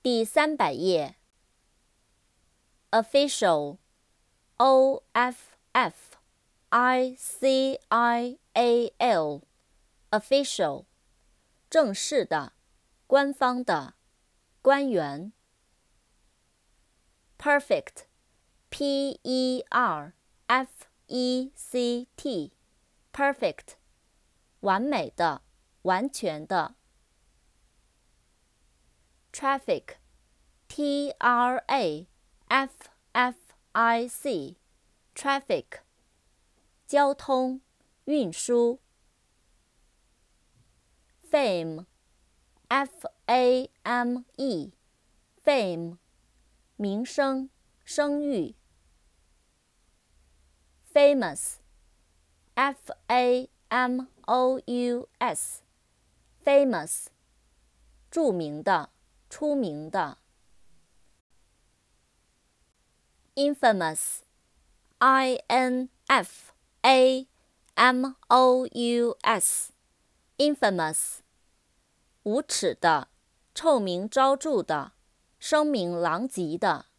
第300页。Official, O-F-F-I-C-I-A-L, Official, 正式的，官方的，官员。Perfect, P-E-R-F-E-C-T, Perfect, 完美的，完全的。Traffic, T-R-A-F-F-I-C, Traffic, 交通，运输。Fame, F-A-M-E, Fame, 名声，声誉。Famous, F-A-M-O-U-S, Famous, 著名的，出名的。Infamous, I-N-F-A-M-O-U-S, Infamous, 无耻的，臭名昭著的，声名狼藉的。